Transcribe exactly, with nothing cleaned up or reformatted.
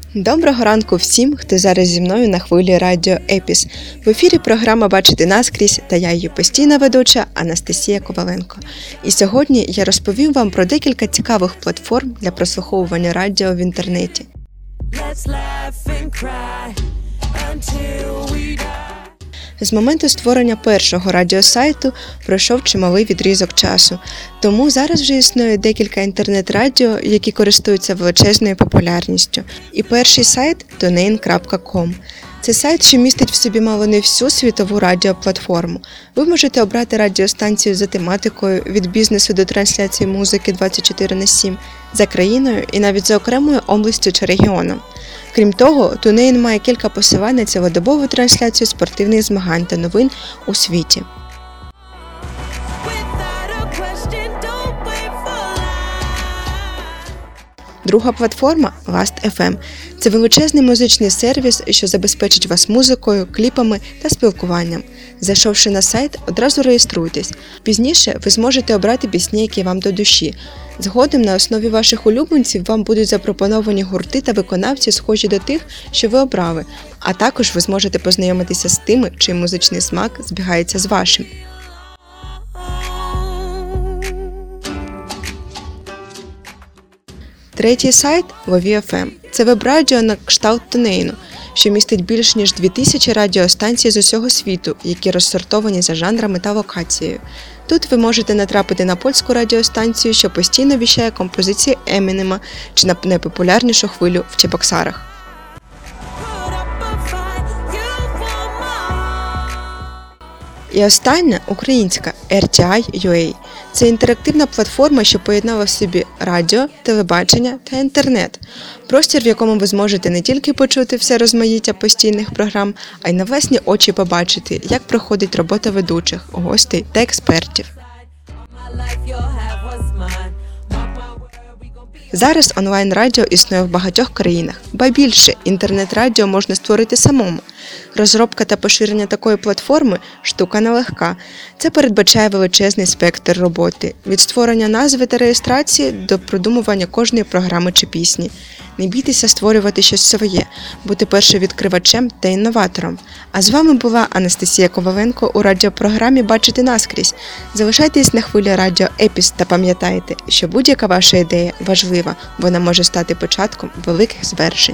Доброго ранку всім, хто зараз зі мною на хвилі радіо Епіс. В ефірі програма «Бачити наскрізь» та я її постійна ведуча Анастасія Коваленко. І сьогодні я розповім вам про декілька цікавих платформ для прослуховування радіо в інтернеті. З моменту створення першого радіосайту пройшов чималий відрізок часу, тому зараз вже існує декілька інтернет-радіо, які користуються величезною популярністю. І перший сайт – тунейн крапка ком. Це сайт, що містить в собі мало не всю світову радіоплатформу. Ви можете обрати радіостанцію за тематикою, від бізнесу до трансляції музики двадцять чотири на сім, за країною і навіть за окремою областю чи регіоном. Крім того, Тунейн має кілька посилань на цілодобову трансляцію спортивних змагань та новин у світі. Друга платформа – ласт точка еф ем. Це величезний музичний сервіс, що забезпечить вас музикою, кліпами та спілкуванням. Зайшовши на сайт, одразу реєструйтесь. Пізніше ви зможете обрати пісні, які вам до душі. Згодом на основі ваших улюбленців вам будуть запропоновані гурти та виконавці, схожі до тих, що ви обрали, а також ви зможете познайомитися з тими, чий музичний смак збігається з вашим. Третій сайт – лові точка еф ем. Це веб-радіо на кшталт Тунейну, що містить більш ніж дві тисячі радіостанцій з усього світу, які розсортовані за жанрами та локацією. Тут ви можете натрапити на польську радіостанцію, що постійно віщає композиції Емінема, чи на найпопулярнішу хвилю в Чебоксарах. І остання – українська ар ті ай точка ю а. Це інтерактивна платформа, що поєднала в собі радіо, телебачення та інтернет. Простір, в якому ви зможете не тільки почути все розмаїття постійних програм, а й на власні очі побачити, як проходить робота ведучих, гостей та експертів. Зараз онлайн-радіо існує в багатьох країнах, ба більше, інтернет-радіо можна створити самому. Розробка та поширення такої платформи – штука нелегка. Це передбачає величезний спектр роботи – від створення назви та реєстрації до продумування кожної програми чи пісні. Не бійтеся створювати щось своє, бути першовідкривачем та інноватором. А з вами була Анастасія Коваленко у радіопрограмі «Бачити наскрізь». Залишайтесь на хвилі радіо Епіс та пам'ятайте, що будь-яка ваша ідея важлива, вона може стати початком великих звершень.